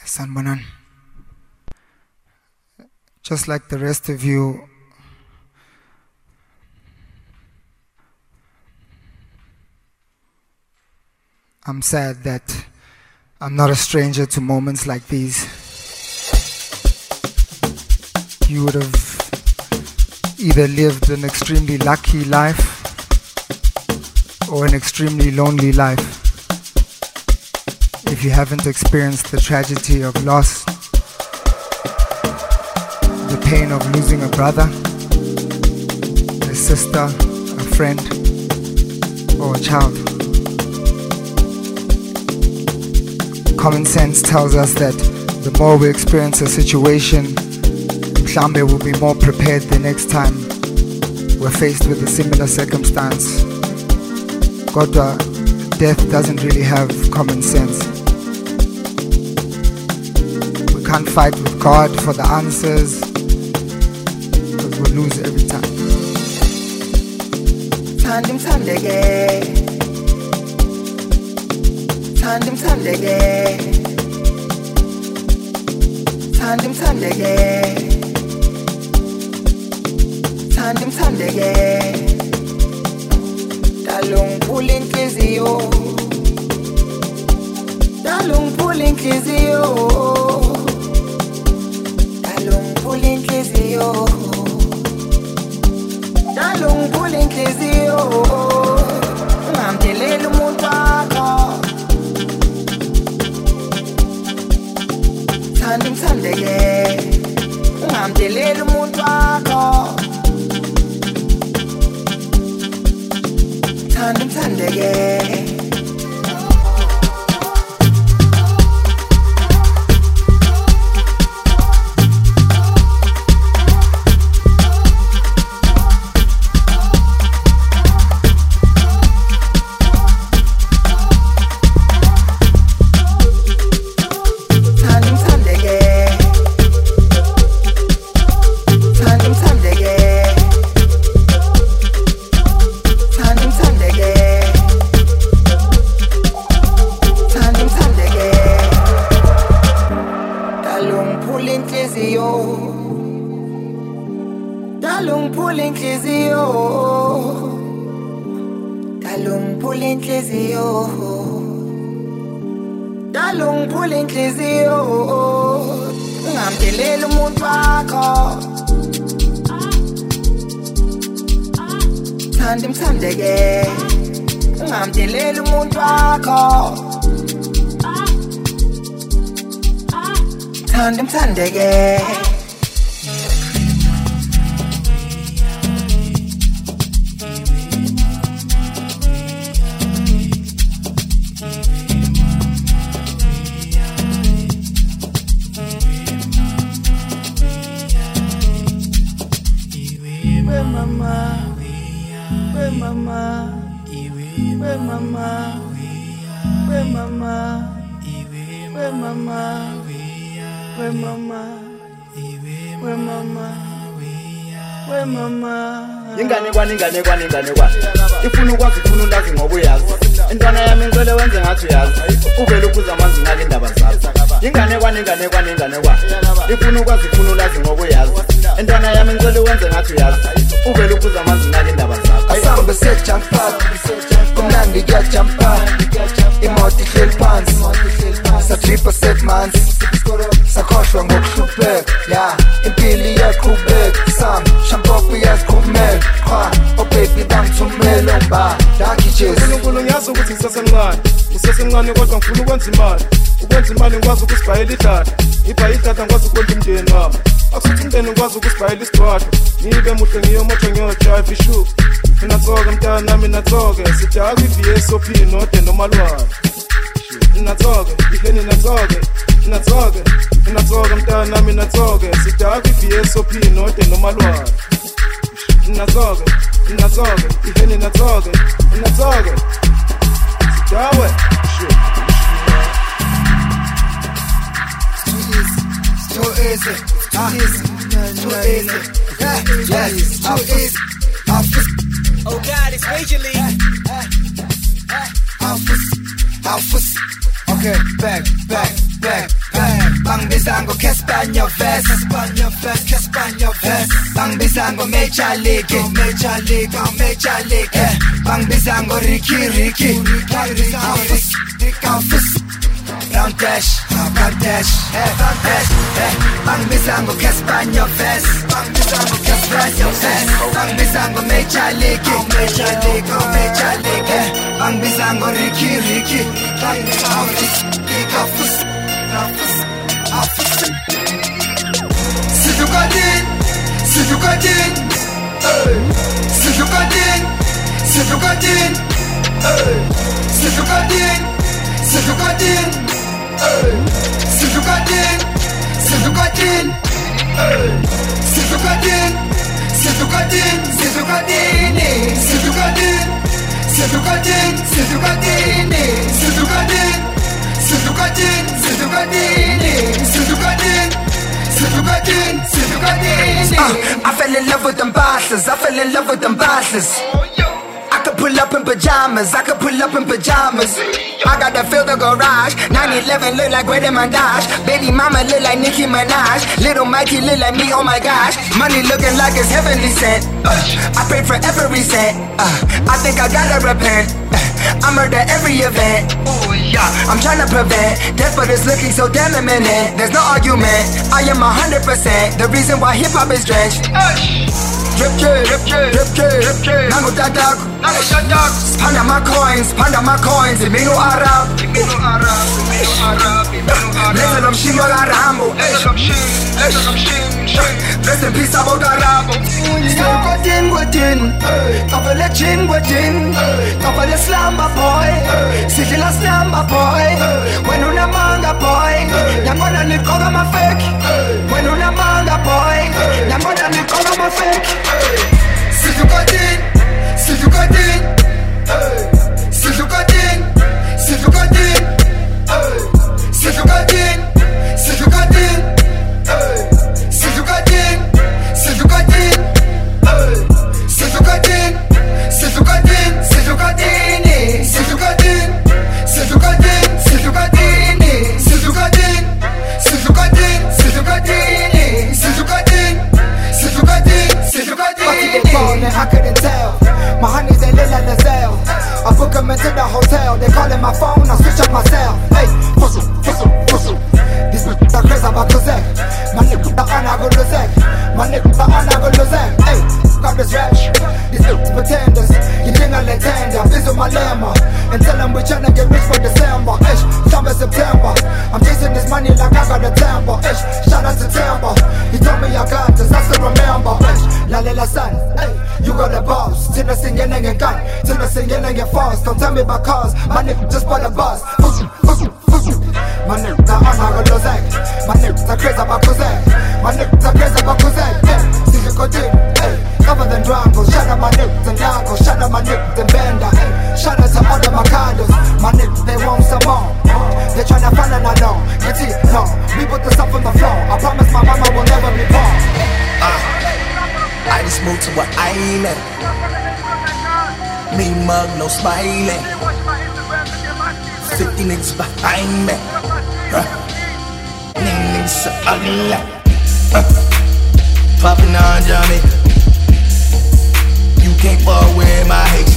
Sanbonan. Just like the rest of you, I'm sad that I'm not a stranger to moments like these. You would have either lived an extremely lucky life or an extremely lonely life if you haven't experienced the tragedy of loss, the pain of losing a brother, a sister, a friend, or a child. Common sense tells us that the more we experience a situation, mhlambe will be more prepared the next time we're faced with a similar circumstance. Kodwa, death doesn't really have common sense. We can't fight with God for the answers, because we'll lose every time. Tandim tandege, tandim tandege, tandim tandege, tandim tandege. Dalung pulling kizio, dalung pulling kizio, dalung pulling kizio, dalung pulling kizio. Ngamdelele umuntu wakho, thandim thandeke, ngamdelele umuntu wakho. Tandim tandege. Tandim tandege, ngamdelele umuntu wakho. Tandim tandege. Ingane kwa ifuna ukwazi ifuna ulazi ngoba uyazi intwana yami ngicela wenze ngathi uyazi uvela ukuza amanzi ngake indaba zakho ingane kwa ifuna ukwazi ifuna ulazi ngoba uyazi intwana yami ngicela wenze ngathi uyazi uvela ukuza amanzi ngake indaba zakho asambe set jump up kumnandi kuya jump up imoto ihleli phansi satripa set manzi sakhohlwa ngokuhlupheka ya impilo iyaqhubeka sam shampoo uyaziqhumela qha oh baby bangithumela ba dakhijes uNkulunkulu ngiyazi ukuthi ngisesemncane kodwa ngifuna ukwenza imali ngikwazi ukusibhayela idata ngibhaye idata ngikwazi ukwenza umndeni wami akusithi umndeni ngikwazi ukusibhayela isidwadlo ngibe muhle ngiyomoto ngiyodrive ishoe ninatsoke mntana nami natsoke sidaka iVSOP node nomalwane ninatsoke iheni natsoke mntana nami natsoke sidaka iVSOP node nomalwane ninatsoke iheni natsoke sidawe too easy Oh God, it's Major League. Alphas. Okay, back. Caspania vest Bangbiza ngo Major League Bangbiza ngo Ricky Round dash Bangbiza ngo Caspania vest Bangbiza ngo Major League Bangbiza ngo Ricky Sidukadin Sidukadin Sidukadin Sidukadin Sidukadin Sidukadin Sidukadin Sidukadin Sidukadin Sidukadin Sidukadin Sidukadin Sidukadin Sidukadin Sidukadin I fell in love with them bosses. I could pull up in pajamas. I gotta fill the garage. 911 look like Greta Mandash. Baby mama look like Nicki Minaj. Little Mikey look like me, oh my gosh. Money looking like it's heavenly sent. I pray for every cent. I think I gotta repent. I murder every event. I'm tryna prevent death, but it's looking so damn imminent. There's no argument, I am 100% the reason why hip-hop is drenched. Drip drip, nango tatak. Panda my coins, Imino Arab. Let them shimo la rambo. Rest in peace about Arabo. Godin, Kavale chin godin, Kavale slamba boy, Sigila slamba boy. When una manga boy, Yamona Nikoga ma fake. When una manga boy, Yamona Nikoga ma fake. Sidukadin, Sidukadin, Sidukadin, Sidukadin, Sidukadin, Sidukadin, Sidukadin, Sidukadin, Sidukadin, Sidukadin, Sidukadin, Sidukadin, Sidukadin, Sidukadin, Sidukadin, Sidukadin, Sidukadin, Sidukadin. I couldn't tell. My honeys they live like Lazelle. I book them into the hotel. They calling my phone, I switch up my cell. Hey, fussle. These bitches are crazy about Kozak. My niggas are on, I go Lozak. Hey, got this rap. These bitches pretenders. You think I let tender. Visit my lemma and tell them we tryna get rich for December. Ish, summer September. I'm chasing this money like I got a temper. Ish, shout out to Temper. He told me I got this, I still remember. Ish, la son. Hey, you got the boss. Till I sing and gun. Till I sing and get fast. Don't tell me about cars. My nigga just bought a bus. My niggas are on, I go Lozak. My niggas are crazy about Kozak. Hey, see you go deep. Hey, cover them drangos. Shout out my niggas and Nago. Shout out my niggas and Bender. Hey, shout out to all the Macados. My niggas, they want some more. They tryna find an unknown. You see, no, we put the stuff on the floor. I promise my mama will never be poor. I just moved to an island. Me mug, no smiling. 50 niggas behind me. Niggas so ugly. Poppin' on Johnny. You can't fall with my hate.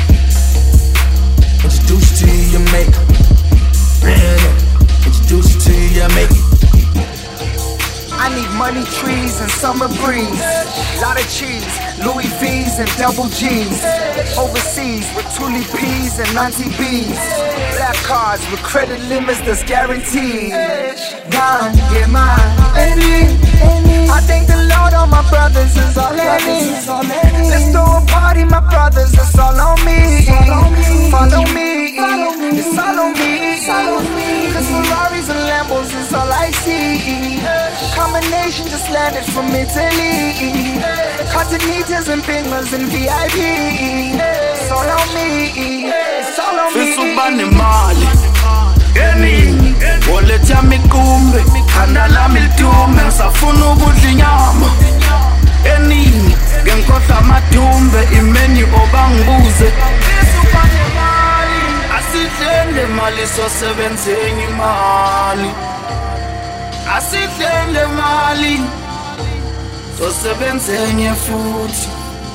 Introduce you to your maker. Introduce you to your maker. I need money trees and summer breeze. Lot of cheese, Louis V's and double G's. Overseas with Tuli P's and Nancy B's. Black cards with credit limits that's guaranteed. Gone, get mine. I thank the Lord all my brothers is all I need. Let's throw a party, my brothers, it's all on me. Follow me, it's all on me. Cause Ferraris and Lambos is all I see. Combination just landed from Italy. Continentals and Bingers and VIP. It's all on me, it's all on me. Fisubane mali Eni Wallet ya mikumbe Khanda lami litume Ngisafuna ukudla inyama Eni Ngenkhohlwa amadumbe Imeni obangibuze Fisubane mali Asidlende mali Sosebenzeni imali asihlele mali sosebenzenye futhi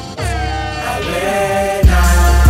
awena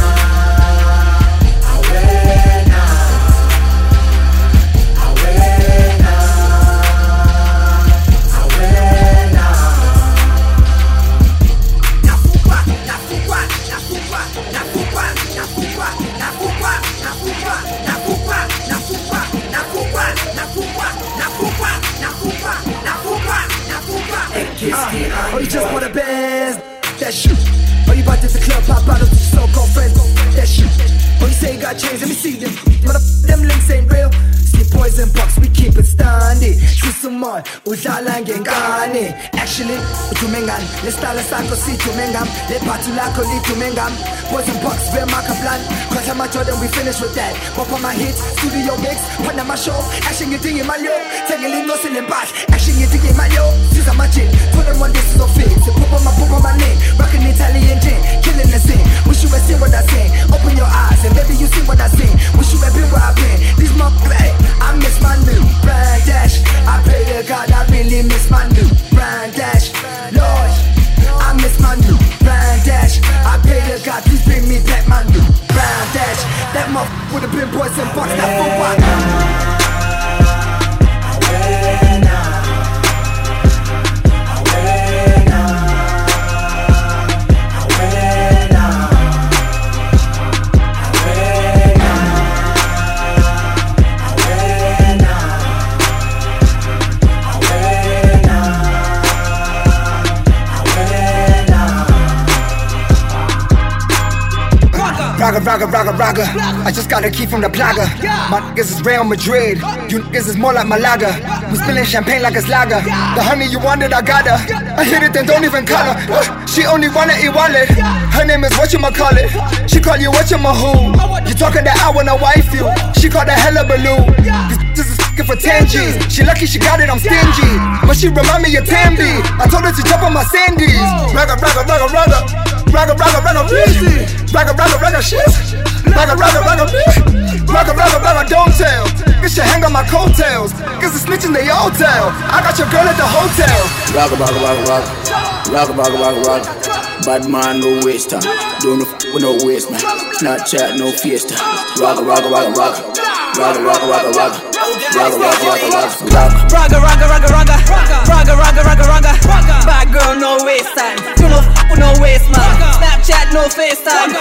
Oh, you just wanna best, that's you. Oh, you about to the club, pop out of your so-called friends, that's you. Oh, you say you got chains, let me see them. Them links ain't real. See poison box, we keep it standing. Shusumon, udlala ngengane. Actually, utumengan, lestala sako si tumengam. Le patulako li tumengam. Poison box, we're Macaplan. Cause I'm a Jordan, we finish with that. Pop on my hits, studio mix, put on my show. Action you think in my yo. Take a little no in back. Action you think in my yo. Since I'm a chick, 21 this is so fake. So pop on my name. Rockin' Italian gin, killing the scene. Wish you had seen what I sing. Open your eyes and maybe you see what I sing. Wish you had been where I've been. These motherfuckers, I miss my new brand dash. I pray to God I really miss my new brand dash. Lord, I miss my new brand dash. I pray to God please bring me back my new brand dash. That motherfucker would have been boys and box that for what? Raga. I just got a key from the plaga. My niggas is Real Madrid. You niggas is more like Malaga. We spilling champagne like it's lager. The honey you wanted, I got her. I hit it, then don't even call her. She only wanna eat wallet. Her name is whatchamacallit. She call you whatchamahoo. You talking that I wanna wife you. She called a hella balloon. This is f***ing for 10 G's. She lucky she got it, I'm stingy. But she remind me of Tambi. I told her to jump on my Sandies. Raga, shit. Raga, don't tell. Get your hang on my coattails. Cause the snitching they all tell. I got your girl at the hotel. Raga. Bad man, no waste time. Don't no f*** with no waste man. Snapchat, no fiesta. Raga. Bad girl, no waste time. You no f*** with no waste man. Snapchat, no FaceTime.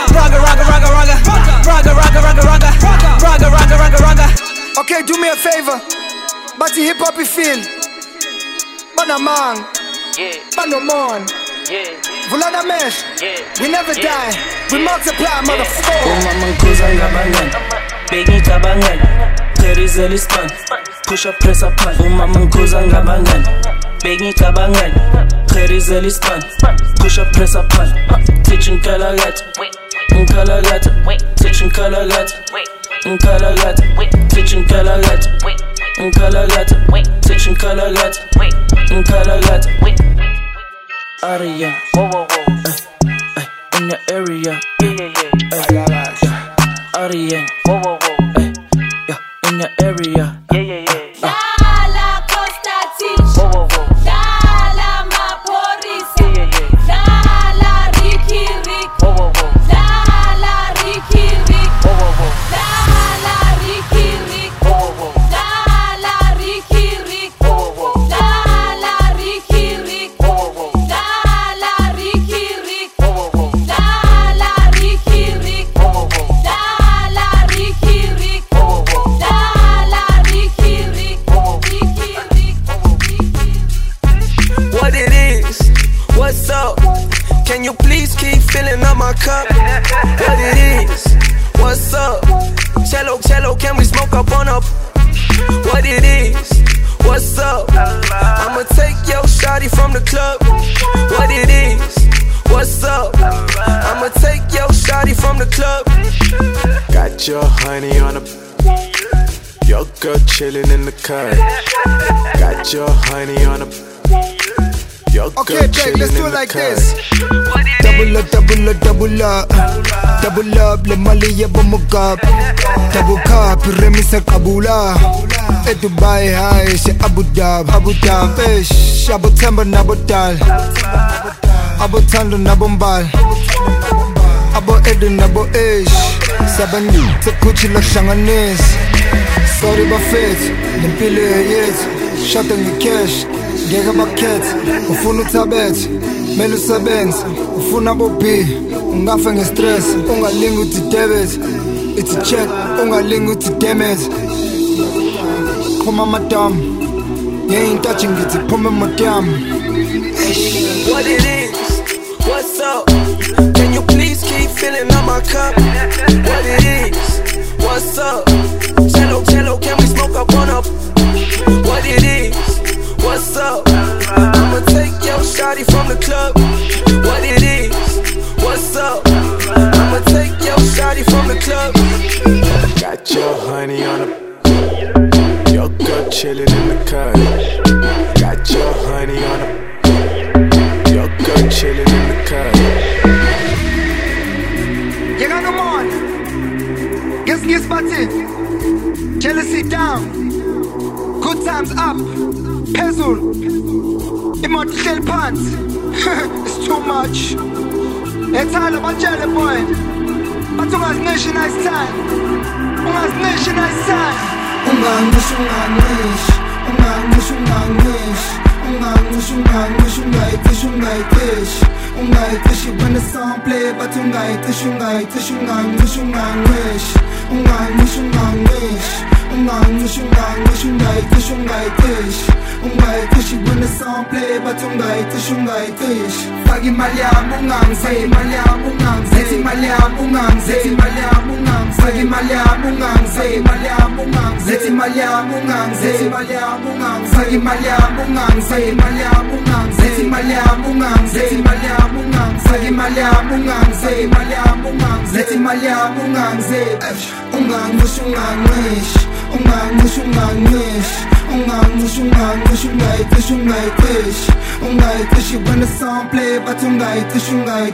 Raga. Okay, do me a favor. But the hip hop you feel. But no man. But no man. Vulana mesh. We never die. We multiply, motherfucker. Push up, press up, pan. Mama nkuza ngabangan. Begi kabangan. Khairizeli span. Push up, press up, pan. Teaching kalagat. Teaching kalagat. Teaching kalagat. Teaching kalagat. Aria. In the area. Aria. In the area. Dala Constantine. Dala Maporisa. Dala Ricky Rick. Dala Ricky Rick. Dala Ricky Rick. Dala Ricky Rick. Dala Ricky Rick. Dala Ricky Rick. Dala Ricky Rick. Dala Ricky Rick. What it is? What's up? Can you please keep filling up my cup? What it is? What's up? Cello, can we smoke up on up? What it is? What's up? I'ma take your shawty from the club. What it is? What's up? I'ma take your shawty from the club. Got your honey on a. Your girl chillin' in the car. Got your honey on a. Your Okay, Jake, let's do it like this. Double up, le mali ya bomugab. Double cup, remise kabula. E Dubai high, she Abu Dhabi, ish. Abu Temba nabodal, Abu Tando nabombal, Abu Eden nabo ish. Sabani, Takuchi la shanganis. Sorry buffet, limpile yet. Shut on the cash, gega bucket. Ufunu tabet, melu sabens. Ufuna bobi, ungafa nge stress. Ungalingu to debit, it's a check. Ungalingu to damage. Come on, madam, you ain't touching it. Come on, madam. What it is? What's up? Can you please keep filling up my cup? What it is? What's up? Cello, can we smoke up on up? What it is? What's up? I'ma take your shawty from the club. What it is? What's up? I'ma take your shawty from the club. Got your honey on the your girl chillin' in the cut. Got your honey on the your girl chillin' in the cut. You got them on. Guess party. Jealousy down. Good times up. Pezul. Immortal pants. It's too much. It's all about jelly boy. But you guys nation nice time. You guys nation nice time. Ungangish when the song play, but ungaitish when the song play, but ungaitish. Fagi malyam ungangze, malyam ungangze, malyam ungangze, malyam ungangze, fagi malyam ungangze, malyam ungangze, malyam ungangze, malyam ungangze, fagi malyam ungangze, malyam ungangze, malyam ungangze, malyam ungangze, fagi malyam ungangze, malyam ungangze, malyam ungangze. Ungaitish when the song play, but ungaitish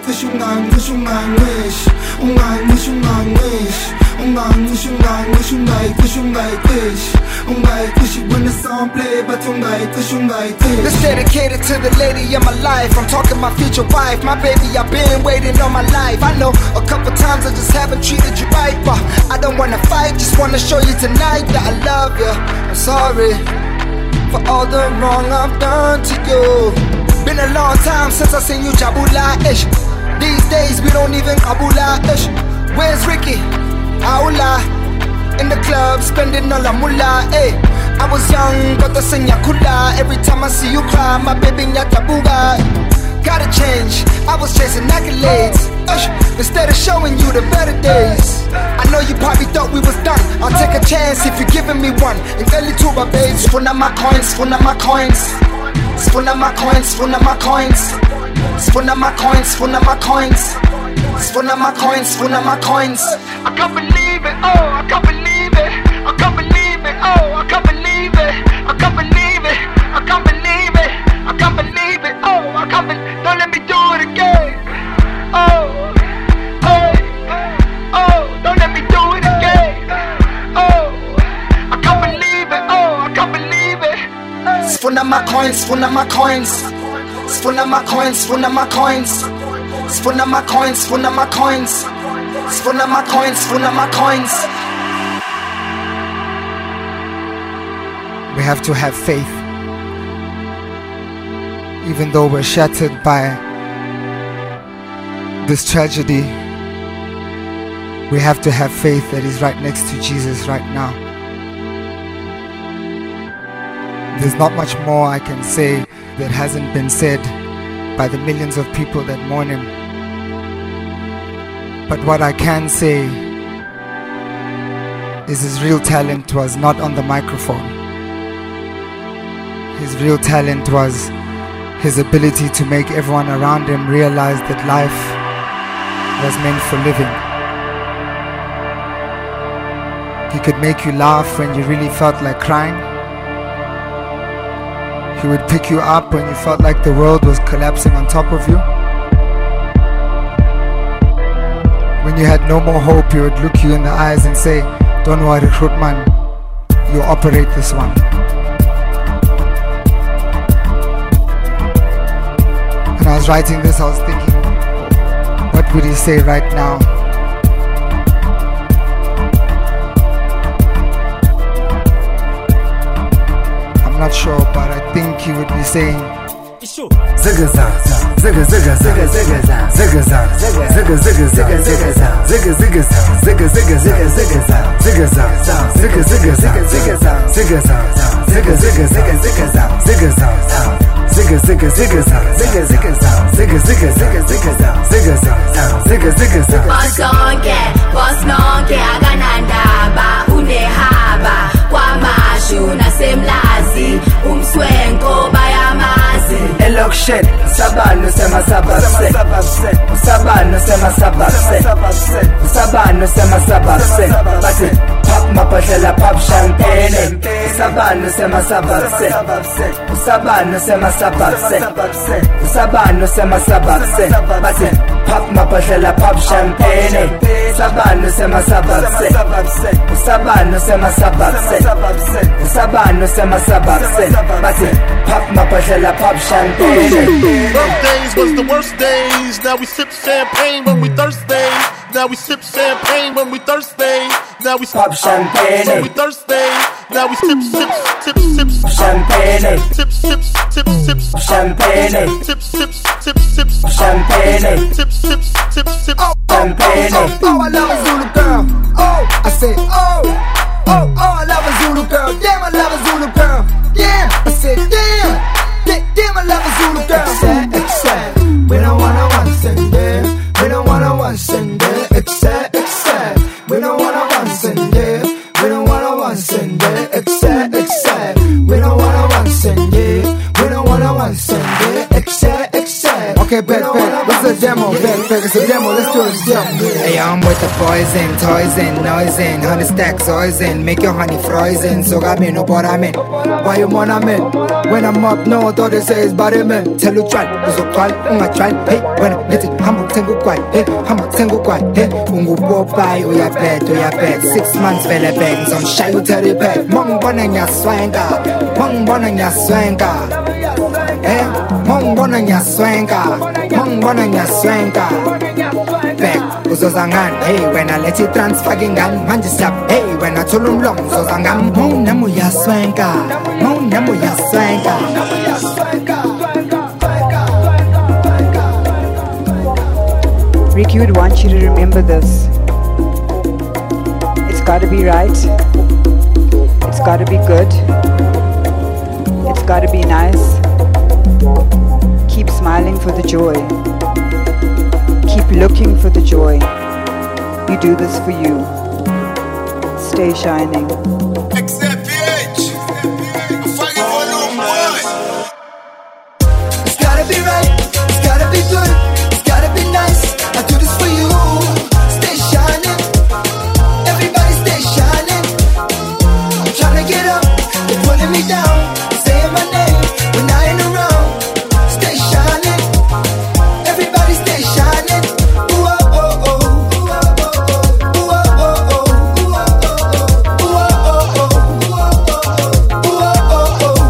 when the song play, but ungaitish. This dedicated to the lady of my life. I'm talking my future wife, my baby. I've been waiting all my life. I know a couple times I just haven't treated you right, but I don't wanna fight, just wanna show you tonight that I love you. I'm sorry for all the wrong I've done to you. Been a long time since I seen you jabula-ish. These days we don't even kabula-ish. Where's Ricky? Aula. In the club, spending all the mullah, eh. I was young, but the senya kula. Every time I see you cry, my baby nyatabuga. Gotta change, I was chasing accolades, instead of showing you the better days. I know you probably thought we was done. I'll take a chance if you're giving me one. And tell you to my babes, spuna my coins, spuna my coins, spuna my coins, spuna my coins, spuna my coins, spuna my coins, spuna my coins, spuna my coins. I can't believe it, oh, I can't believe it, I can't believe it, oh, I can't believe it, I can't believe it, I can't believe it, I can't believe it, oh, I can't believe it. Don't let me do it again. Oh, oh, oh, don't let me do it again. Oh, I can't believe it. Oh, I can't believe it. Spuna my coins, spuna my coins, spuna my coins, spuna my coins, spuna my coins, spuna my coins, spuna my coins, spuna my coins. We have to have faith. Even though we're shattered by this tragedy, we have to have faith that He's right next to Jesus right now. There's not much more I can say that hasn't been said by the millions of people that mourn Him. But what I can say is His real talent was not on the microphone. His real talent was His ability to make everyone around Him realize that life was meant for living. He could make you laugh when you really felt like crying. He would pick you up when you felt like the world was collapsing on top of you. When you had no more hope, he would look you in the eyes and say, "Don't worry, Grootman, you operate this one." When I was writing this, I was thinking, what would he say right now? I'm not sure, but I think he would be saying, Zigga-za, zigga-zigga, zigga-zigga, zigga-za, zigga-zigga, zigga-zigga, zigga-zigga, zigga-zigga, zigga-zigga, zigga-za, zigga-zigga, zigga-zigga, zigga-za, zigga-zigga, zigga-zigga, zigga-za, zigga-zigga, zigga-za, zigga-zigga, zigga-zigga, zigga-zigga, zigga-zigga. Boss nonke akanandaba unehaba kwamashu nasemlazi umswenko bayamazi. Elokshen, sabano sema sabase, sabano sema sabase, sabano sema sabase, base, pop mapashela pop champagne, sabano sema sabase, sabano sema sabase, sabano sema sabase, base, pop mapashela pop champagne, sabano sema sabase, sabano sema sabase, sabano sema sabase, base, pop mapashela pop champagne. Birthdays was the worst days. Now we sip champagne when we thirsty. Now we sip champagne when we thirsty. Now we pop champagne when we thirsty. Now we sip champagne. Sip champagne. Sip champagne. Champagne. Oh, I love a Zulu girl. Oh, I say oh, I love a Zulu girl. Damn, I love a Zulu girl. Damn, I said damn, I love a Zulu girl. Except we don't wanna one send there. We don't wanna one send there. Except we don't wanna one send there. We don't wanna one send there. Except we don't wanna one send there. We don't wanna one send there. Except okay, back. What's the demo? Back. It's a demo. Let's do it. Hey, I'm with the poison, toys and noise and 100 stacks oils and make your honey frozen. So got me no boramen. Why you wanna man? When I'm up north, all they say is body man. Tell you try, cause you call, try. Hey, when I get it, I'm a tango quite. Hey, I'm a tango quite. Hey, ungu popai, oh ya bad. 6 months vele bags, I'm shy you tell you back. Mong bonanya swanga. Hey, mong bonanya swanga. Back, uzozangan. Hey, when I let you transfer gingan, manje sap. Hey, when I told him long, uzozangan. Mong namu ya swanga. Ricky would want you to remember this. It's gotta be right. It's gotta be good. It's gotta be nice. Keep smiling for the joy. Keep looking for the joy. We do this for you. Stay shining. It's gotta be right. It's gotta be good. It's gotta be nice. I do this for you. Stay shining. Everybody stay shining. I'm trying to get up. They're pulling me down. Saying my name when I ain't around. Stay shining. Everybody stay shining. Ooh, oh, oh, oh. Ooh, oh, oh, oh. Ooh, oh, oh, oh. Ooh, oh, oh, oh. Ooh, oh, oh, oh.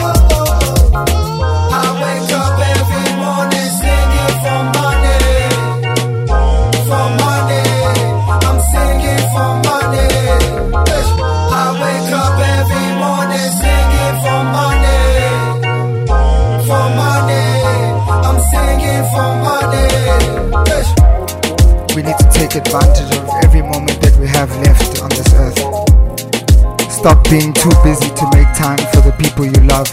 I wake up every morning singing for money. For money. I'm singing for money. I wake up every morning singing for money. For money. I'm singing for money. We need to take advantage of every moment that we have left on this earth. Stop being too busy to make time for the people you love.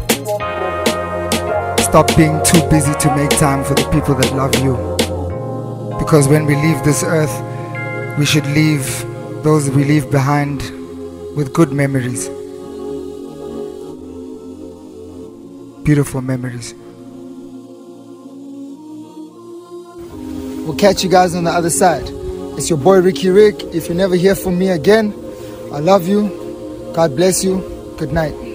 Stop being too busy to make time for the people that love you. Because when we leave this earth, we should leave those we leave behind with good memories. Beautiful memories. We'll catch you guys on the other side. It's your boy Ricky Rick. If you never hear from me again, I love you. God bless you. Good night.